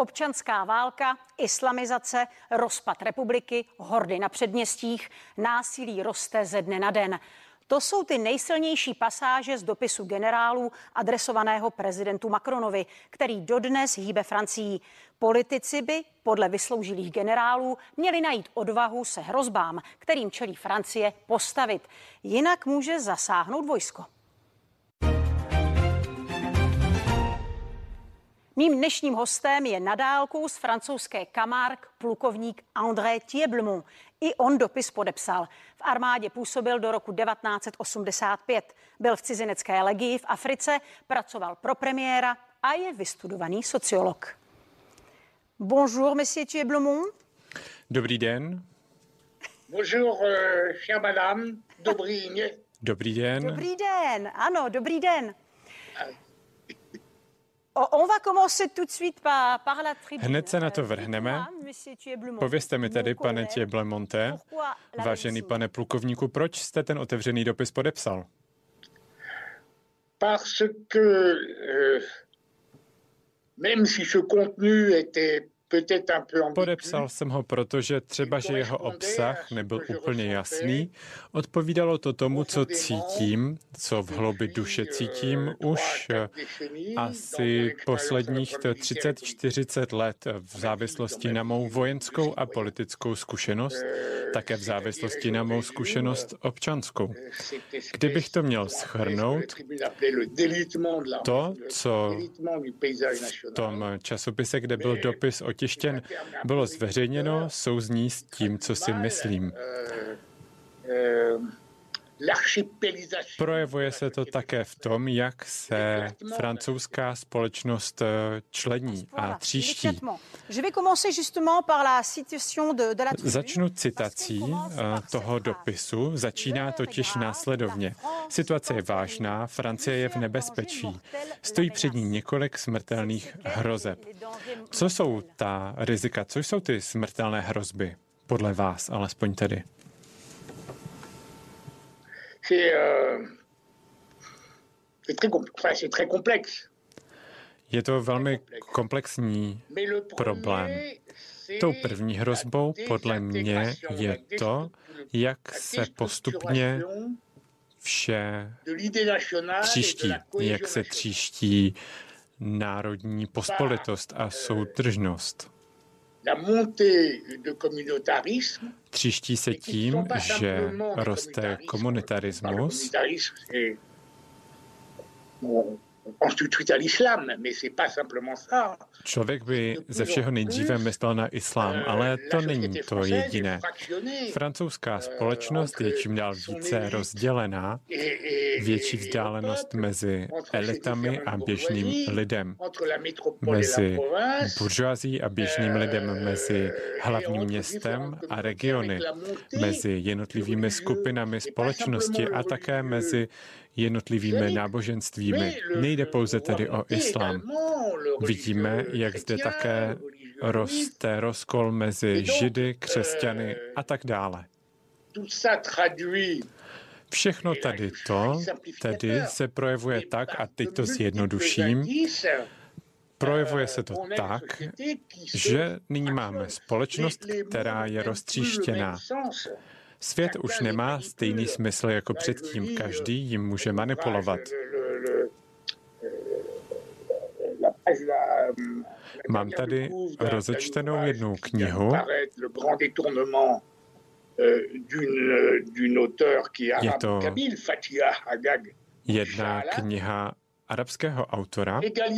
Občanská válka, islamizace, rozpad republiky, hordy na předměstích, násilí roste ze dne na den. To jsou ty nejsilnější pasáže z dopisu generálů adresovaného prezidentu Macronovi, který dodnes hýbe Francií. Politici by podle vysloužilých generálů měli najít odvahu se hrozbám, kterým čelí Francie, postavit. Jinak může zasáhnout vojsko. Mým dnešním hostem je na dálku z francouzské Camargue plukovník André Thieblemont. I on dopis podepsal. V armádě působil do roku 1985. Byl v cizinecké legii v Africe, pracoval pro premiéra a je vystudovaný sociolog. Bonjour, monsieur Thieblemont. Dobrý den. Bonjour, chère madame. Dobrý den. Dobrý den, ano, dobrý den. On va commencer tout de suite par la tribune. Hned se na to vrhneme. Povězte mi tedy, pane Thieblemonte, vážený pane plukovníku, proč jste ten otevřený dopis podepsal? Parce que même si ce contenu était Podepsal jsem ho, protože třeba, že jeho obsah nebyl úplně jasný, odpovídalo to tomu, co cítím, co v hloubi duše cítím už asi posledních 30-40 let v závislosti na mou vojenskou a politickou zkušenost, také v závislosti na mou zkušenost občanskou. Kdybych to měl shrnout, to, co v tom časopise, kde byl dopis otištěn, bylo zveřejněno, souzní s tím, co si myslím. Projevuje se to také v tom, jak se francouzská společnost člení a tříští. Začnu citací toho dopisu, začíná totiž následovně. Situace je vážná, Francie je v nebezpečí. Stojí před ní několik smrtelných hrozeb. Co jsou ta rizika, co jsou ty smrtelné hrozby? Podle vás, alespoň tedy. Je to velmi komplexní problém. Tou první hrozbou podle mě je to, jak se postupně vše tříští, jak se tříští národní pospolitost a soudržnost. Tříští se tím, že roste komunitarismus. Člověk by ze všeho nejdříve myslel na islám, ale to není to jediné. Francouzská společnost je čím dál více rozdělená, větší vzdálenost mezi elitami a běžným lidem, mezi buržoazí a běžným lidem, mezi hlavním městem a regiony, mezi jednotlivými skupinami společnosti a také mezi jednotlivými náboženstvími. Nejde pouze tedy o islám. Vidíme, jak zde také roste rozkol mezi Židy, křesťany a tak dále. Všechno tady to tedy se projevuje tak, a teď to zjednoduším, projevuje se to tak, že nyní máme společnost, která je roztříštěná. Svět už nemá stejný smysl jako předtím. Každý jim může manipulovat. Mám tady rozečtenou jednu knihu. Je to jedna kniha arabského autora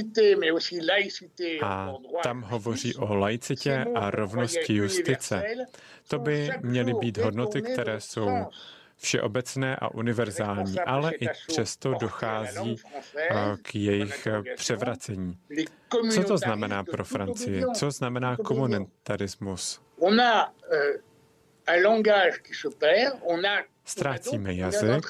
a tam hovoří o laicitě a rovnosti justice. To by měly být hodnoty, které jsou všeobecné a univerzální, ale i přesto dochází k jejich převracení. Co to znamená pro Francii? Co znamená komunitarismus? Ztrácíme jazyk,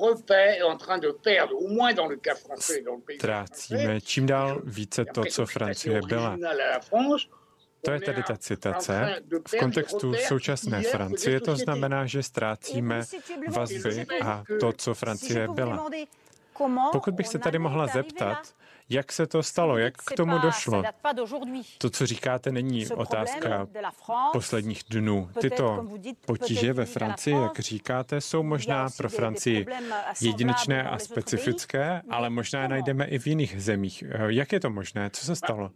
ztrácíme čím dál více to, co Francie byla. To je tedy ta citace. V kontextu současné Francie to znamená, že ztrácíme vazby a to, co Francie byla. Pokud bych se tady mohla zeptat, jak se to stalo, jak k tomu došlo? To, co říkáte, není otázka posledních dnů. Tyto potíže ve Francii, jak říkáte, jsou možná pro Francii jedinečné a specifické, ale možná je najdeme i v jiných zemích. Jak je to možné? Co se stalo?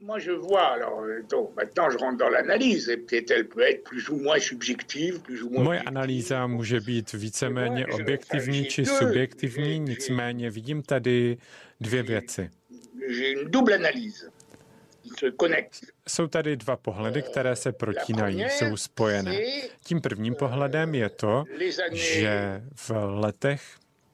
Moje analýza může být víceméně objektivní či subjektivní, nicméně vidím tady dvě věci. Jsou tady dva pohledy, které se protínají, jsou spojené. Tím prvním pohledem je to, že v letech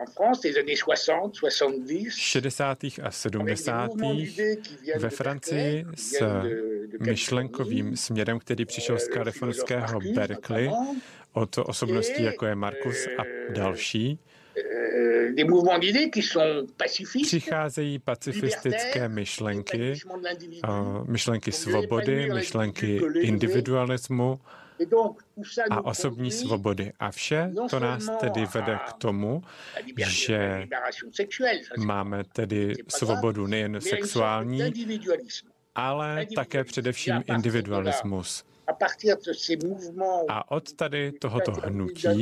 60. a 70. ve Francii s myšlenkovým směrem, který přišel z kalifornského Berkeley, od osobností, jako je Marcus a další, přicházejí pacifistické myšlenky, myšlenky svobody, myšlenky individualismu a osobní svobody. A vše to nás tedy vede k tomu, že máme tedy svobodu nejen sexuální, ale také především individualismus. A od tady tohoto hnutí,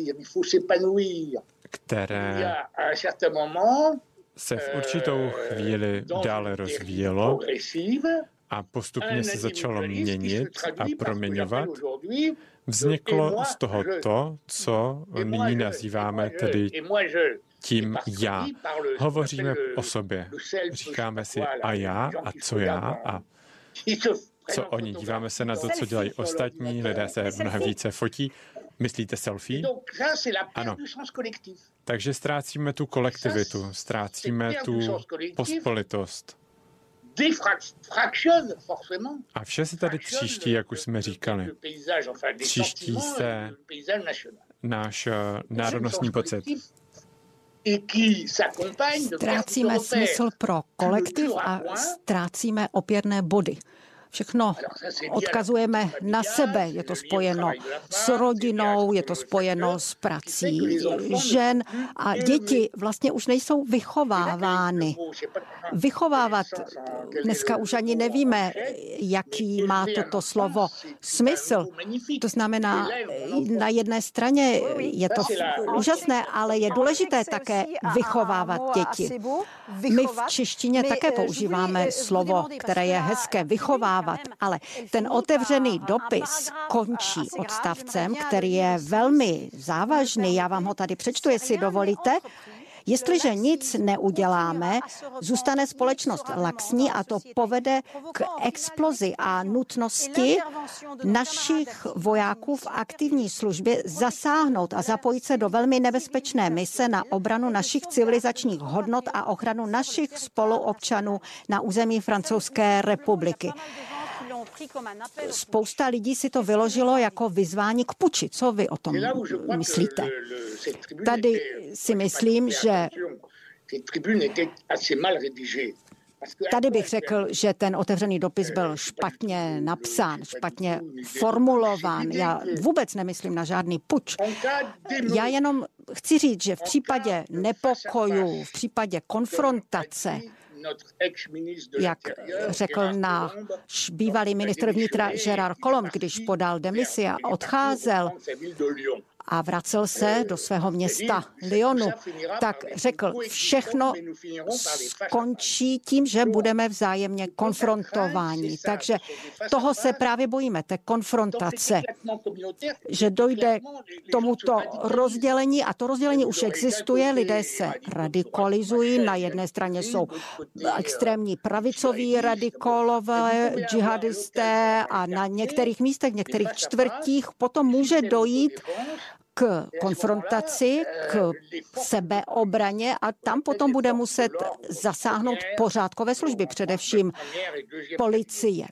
které se v určitou chvíli dále rozvíjelo a postupně se začalo měnit a proměňovat, vzniklo z toho to, co nyní nazýváme tedy tím já. Hovoříme o sobě. Říkáme si a já a co já a co oni. Díváme se na to, co dělají ostatní, lidé se mnohem více fotí. Myslíte selfie? Ano. Takže ztrácíme tu kolektivitu, ztrácíme tu pospolitost. A vše se tady tříští, jak už jsme říkali. Tříští se náš národnostní pocit. Ztrácíme smysl pro kolektiv a ztrácíme opěrné body. Všechno odkazujeme na sebe, je to spojeno s rodinou, je to spojeno s prací žen a děti vlastně už nejsou vychovávány. Vychovávat, dneska už ani nevíme, jaký má toto slovo smysl. To znamená, na jedné straně je to úžasné, ale je důležité také vychovávat děti. My v češtině také používáme slovo, které je hezké, vychovávat, ale ten otevřený dopis končí odstavcem, který je velmi závažný. Já vám ho tady přečtu, jestli dovolíte. Jestliže nic neuděláme, zůstane společnost laxní a to povede k explozi a nutnosti našich vojáků v aktivní službě zasáhnout a zapojit se do velmi nebezpečné mise na obranu našich civilizačních hodnot a ochranu našich spoluobčanů na území Francouzské republiky. Spousta lidí si to vyložilo jako vyzvání k puči. Co vy o tom myslíte? Tady si myslím, že tady bych řekl, že ten otevřený dopis byl špatně napsán, špatně formulován. Já vůbec nemyslím na žádný puč. Já jenom chci říct, že v případě nepokojů, v případě konfrontace, jak řekl náš bývalý ministr vnitra Gérard Collomb, když podal demisi a odcházel a vracel se do svého města Lyonu, tak řekl, všechno skončí tím, že budeme vzájemně konfrontováni. Takže toho se právě bojíme, té konfrontace, že dojde k tomuto rozdělení a to rozdělení už existuje, lidé se radikalizují, na jedné straně jsou extrémní pravicoví radikalové, džihadisté a na některých místech, v některých čtvrtích potom může dojít k konfrontaci, k sebeobraně a tam potom bude muset zasáhnout pořádkové služby, především policie.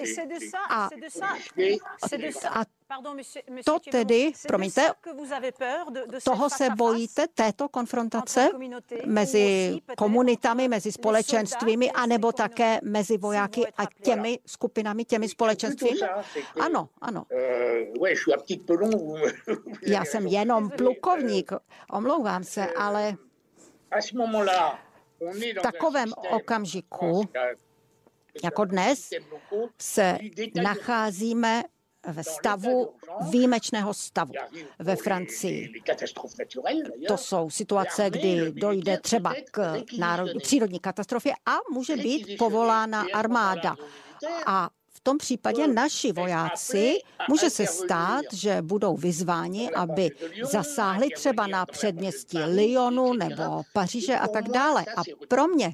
A to tedy, promiňte, toho se bojíte, této konfrontace mezi komunitami, mezi společenstvími, anebo také mezi vojáky a těmi skupinami, těmi společenstvími? Ano, ano. Já jsem jenom plukovník, omlouvám se, ale V takovém okamžiku, jako dnes, se nacházíme ve stavu výjimečného stavu ve Francii. To jsou situace, kdy dojde třeba k přírodní katastrofě a může být povolána armáda. A v tom případě naši vojáci může se stát, že budou vyzváni, aby zasáhli třeba na předměstí Lyonu nebo Paříže a tak dále. A pro mě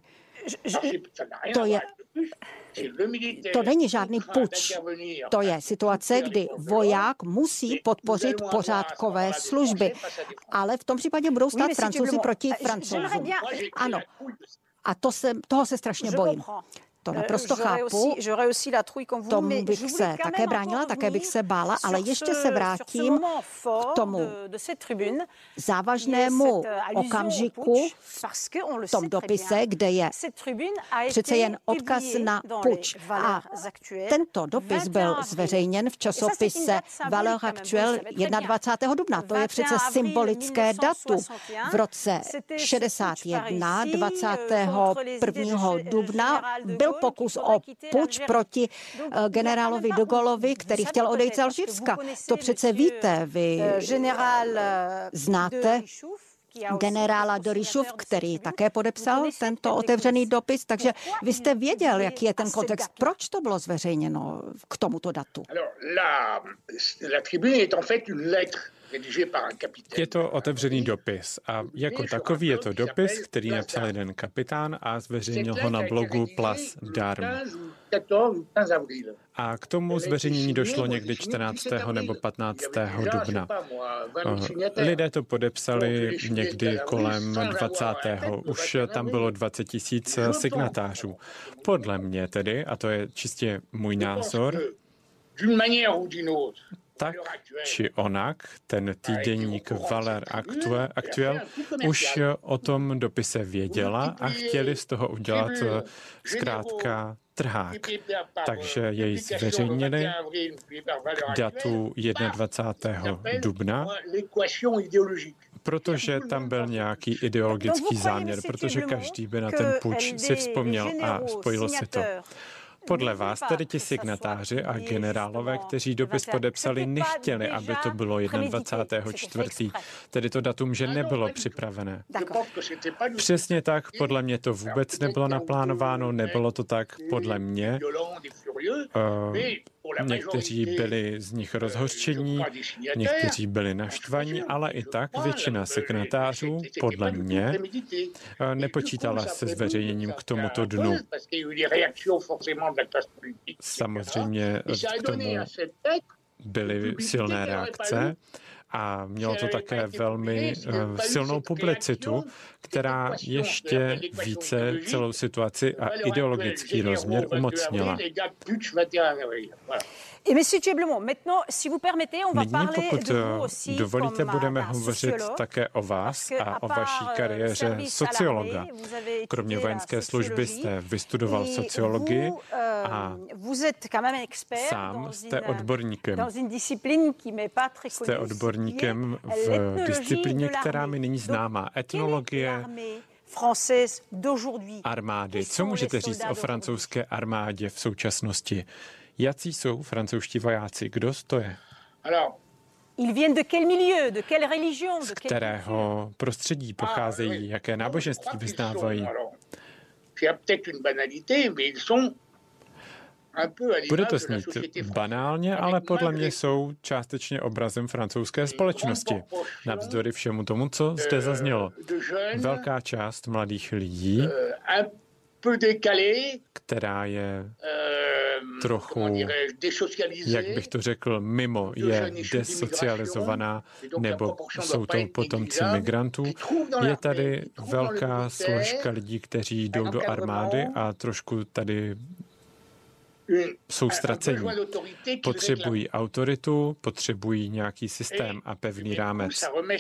to není žádný puč. To je situace, kdy voják musí podpořit pořádkové služby. Ale v tom případě budou stát Francouzi proti Francouzům. Ano. A toho se strašně bojím. To naprosto chápu, tomu bych se také bránila, také bych se bála, ale ještě se vrátím k tomu závažnému okamžiku v tom dopise, kde je přece jen odkaz na puč. A tento dopis byl zveřejněn v časopise Valeurs Actuelles 21. dubna. To je přece symbolické datum. V roce 61, 21. dubna byl pokus o puč proti generálovi de Gaullovi, který chtěl odejít z Alžírska. To přece víte, vy znáte generála de Richouf, který také podepsal tento otevřený dopis, takže vy jste věděl, jaký je ten kontext. Proč to bylo zveřejněno k tomuto datu? Je to otevřený dopis a jako takový je to dopis, který napsal jeden kapitán a zveřejnil ho na blogu Place d'Armes. A k tomu zveřejnění došlo někdy 14. nebo 15. dubna. Lidé to podepsali někdy kolem 20. Už tam bylo 20 000 signatářů. Podle mě tedy, a to je čistě můj názor, tak či onak, ten týdeník Valeurs Actuelles už o tom dopise věděla a chtěli z toho udělat zkrátka trhák. Takže jej zveřejnili k datu 21. dubna, protože tam byl nějaký ideologický záměr, protože každý by na ten puč si vzpomněl a spojilo si to. Podle vás tedy ti signatáři a generálové, kteří dopis podepsali, nechtěli, aby to bylo 21.4., tedy to datum, že nebylo připravené. Přesně tak, podle mě to vůbec nebylo naplánováno, nebylo to tak podle mě. Někteří byli z nich rozhořčení, někteří byli naštvaní, ale i tak většina signatářů, podle mě, nepočítala se zveřejněním k tomuto dnu. Samozřejmě k tomu byly silné reakce a mělo to také velmi silnou publicitu, která ještě více celou situaci a ideologický rozměr umocnila. Nyní, pokud dovolíte, budeme hovořit také o vás a o vaší kariéře sociologa. Kromě vojenské služby jste vystudoval sociologii a sám jste odborníkem. Jste odborníkem v disciplíně, která mi není známá. Etnologie, armády. Co můžete říct o francouzské armádě v současnosti? Jací jsou francouzští vojáci? Kdo to je? Z kterého prostředí pocházejí? Jaké náboženství vyznávají? Bude to znít banálně, ale podle mě jsou částečně obrazem francouzské společnosti. Navzdory všemu tomu, co zde zaznělo. Velká část mladých lidí, která je trochu, jak bych to řekl, mimo, je desocializovaná, nebo jsou to potomci migrantů. Je tady velká složka lidí, kteří jdou do armády a trošku tady jsou ztracení. Potřebují autoritu, potřebují nějaký systém a pevný rámec.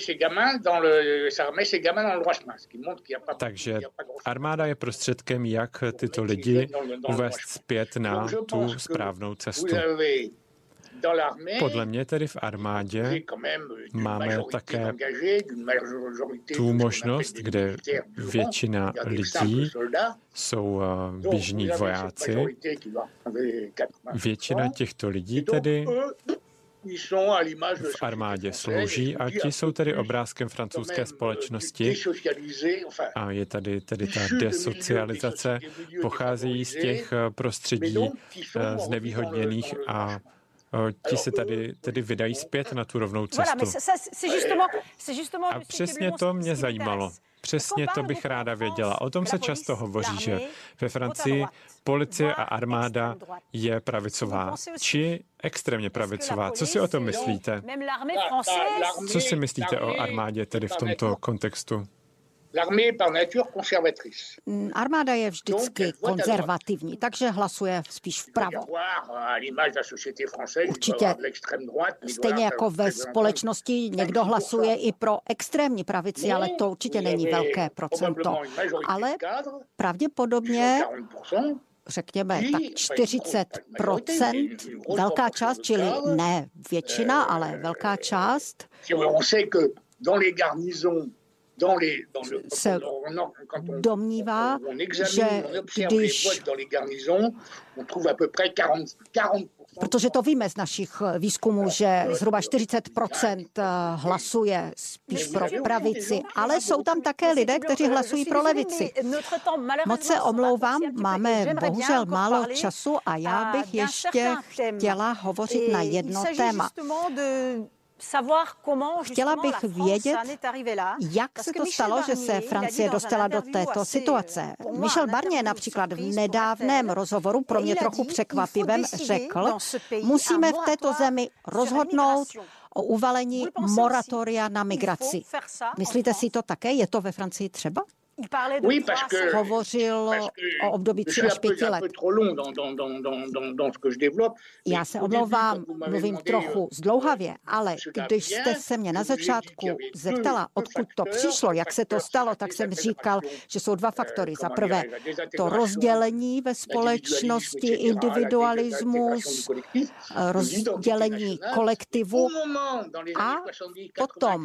Takže armáda je prostředkem, jak tyto lidi uvést zpět na tu správnou cestu. Podle mě tedy v armádě máme také tu možnost, kde většina lidí jsou běžní vojáci. Většina těchto lidí tedy v armádě slouží a ti jsou tedy obrázkem francouzské společnosti a je tady tedy ta desocializace, pocházejí z těch prostředí znevýhodněných a ti se tedy vydají zpět na tu rovnou cestu. A přesně to mě zajímalo. Přesně to bych ráda věděla. O tom se často hovoří, že ve Francii policie a armáda je pravicová, či extrémně pravicová. Co si o tom myslíte? Co si myslíte o armádě tedy v tomto kontextu? Armáda je vždycky konzervativní, takže hlasuje spíš vpravo. Určitě stejně jako ve společnosti někdo hlasuje i pro extrémní pravici, ale to určitě není velké procento. Ale pravděpodobně řekněme tak 40%, velká část, čili ne většina, ale velká část, se domnívá, že když, protože to víme z našich výzkumů, že zhruba 40% hlasuje spíš pro pravici, ale jsou tam také lidé, kteří hlasují pro levici. Moc se omlouvám, máme bohužel málo času a já bych ještě chtěla hovořit na jedno téma. Chtěla bych vědět, jak se to stalo, že se Francie dostala do této situace. Michel Barnier například v nedávném rozhovoru, pro mě trochu překvapivém, řekl, musíme v této zemi rozhodnout o uvalení moratoria na migraci. Myslíte si to také? Je to ve Francii třeba? Hovořil o období 3 až 5 let. Já se omlouvám, mluvím trochu zdlouhavě, ale když jste se mě na začátku zeptala, odkud to přišlo, jak se to stalo, tak jsem říkal, že jsou 2 faktory. Za prvé to rozdělení ve společnosti, individualismus, rozdělení kolektivu a potom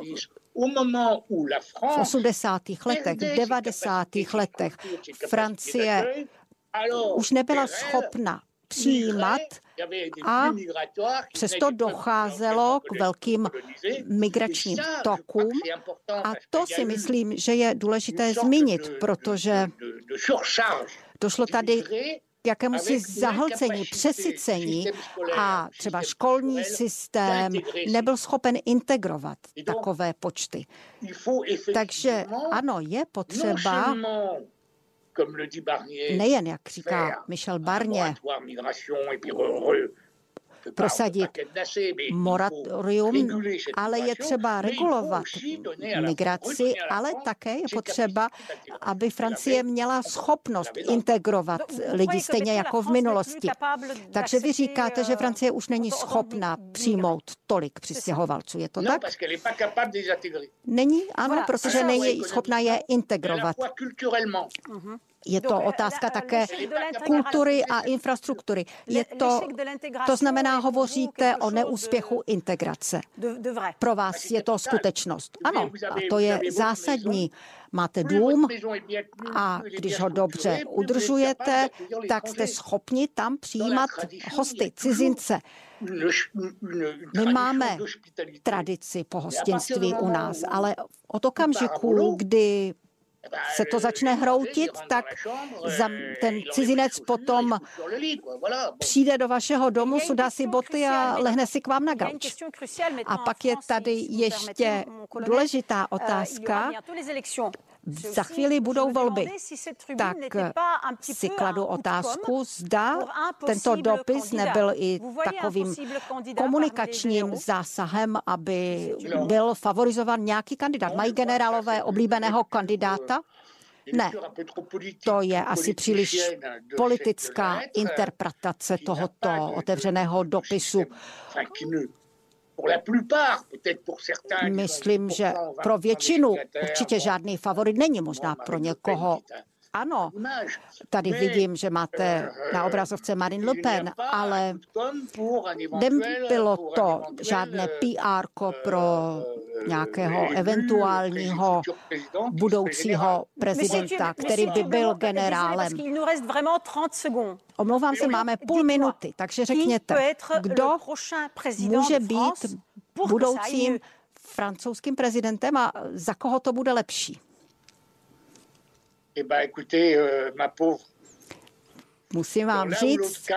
v 80. letech, 90. letech Francie už nebyla schopna přijímat a přesto docházelo k velkým migračním tokům a to si myslím, že je důležité zmínit, protože došlo tady k jakémusi zahlcení, přesycení a třeba školní systém nebyl schopen integrovat takové počty. Takže ano, je potřeba nejen, jak říká Michel Barnier, prosadit moratorium, ale je třeba regulovat migraci, ale také je potřeba, aby Francie měla schopnost integrovat lidi stejně jako v minulosti. Takže vy říkáte, že Francie už není schopna přijmout tolik přistěhovalců. Je to tak? Není? Ano, protože není schopna je integrovat. Je to otázka také kultury a infrastruktury. To znamená, hovoříte o neúspěchu integrace. Pro vás je to skutečnost. Ano, a to je zásadní. Máte dům a když ho dobře udržujete, tak jste schopni tam přijímat hosty, cizince. My máme tradici pohostinství u nás, ale od okamžiku, kdy se to začne hroutit, tak ten cizinec potom přijde do vašeho domu, sudá si boty a lehne si k vám na gauč. A pak je tady ještě důležitá otázka. Za chvíli budou volby. Tak si kladu otázku, zda tento dopis nebyl i takovým komunikačním zásahem, aby byl favorizován nějaký kandidát. Mají generálové oblíbeného kandidáta? Ne, to je asi příliš politická interpretace tohoto otevřeného dopisu. Myslím, že pro většinu určitě žádný favorit není, možná pro někoho Ano, tady vidím, že máte na obrazovce Marine Le Pen, ale nebylo to žádné PR pro nějakého eventuálního budoucího prezidenta, který by byl generálem. Omlouvám se, máme půl minuty, takže řekněte, kdo může být budoucím francouzským prezidentem a za koho to bude lepší? Musím vám říct,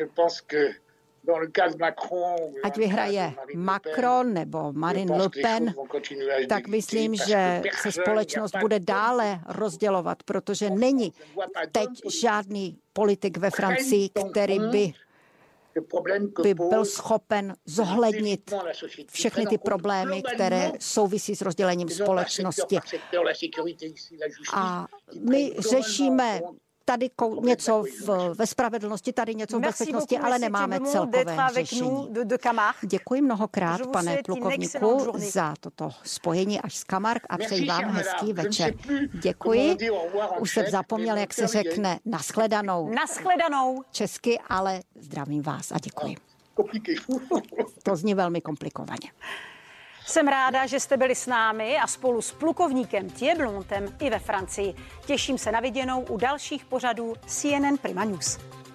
ať vyhraje Macron nebo Marine Le Pen, tak myslím, že se společnost bude dále rozdělovat, protože není teď žádný politik ve Francii, který by byl schopen zohlednit všechny ty problémy, které souvisí s rozdělením společnosti. A my řešíme tady něco ve spravedlnosti, tady něco v bezpečnosti, ale nemáme celkové řešení. Děkuji mnohokrát, pane plukovníku, za toto spojení až z Camargue a přeji vám hezký večer. Děkuji. Už jsem zapomněl, jak se řekne nashledanou. Nashledanou. Česky, ale zdravím vás a děkuji. To zní velmi komplikovaně. Jsem ráda, že jste byli s námi a spolu s plukovníkem Thierry Blountem i ve Francii. Těším se na viděnou u dalších pořadů CNN Prima News.